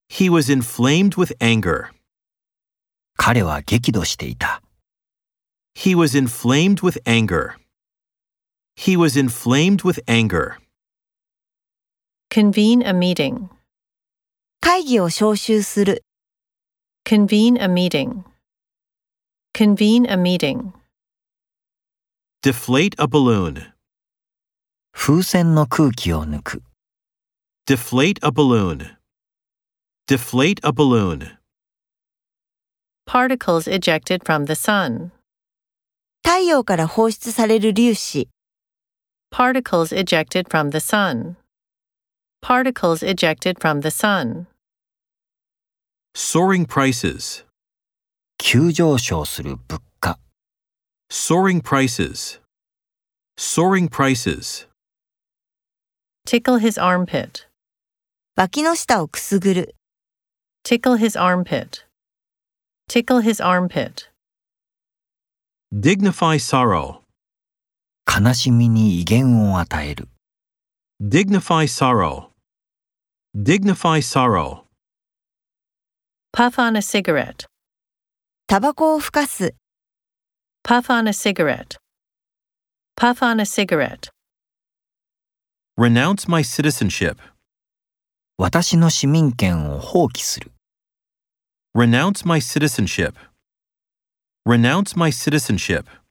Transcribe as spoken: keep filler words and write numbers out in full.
He was inflamed with anger. 彼は激怒していた。 He was inflamed with anger. He was inflamed with anger. Convene a meeting. 会議を招集する。 Convene a meeting. Convene a meeting. Deflate a balloon. 風船の空気を抜く。 Deflate a balloon. Deflate a balloon. Particles ejected from the sun. 太陽から放出される粒子。 Particles ejected from the sun. Particles ejected from the sun. Soaring prices. 急上昇する物価。 Soaring prices. Soaring prices. Tickle his armpit. 脇の下をくすぐる。 Tickle his armpit. Tickle his armpit. Dignify sorrow. 悲しみに威厳を与える。 Dignify sorrow. Dignify sorrow. Puff on a cigarette. タバコをふかす。 Puff on a cigarette. Puff on a cigarette. Renounce my citizenship. 私の市民権を放棄する。 Renounce my citizenship. Renounce my citizenship.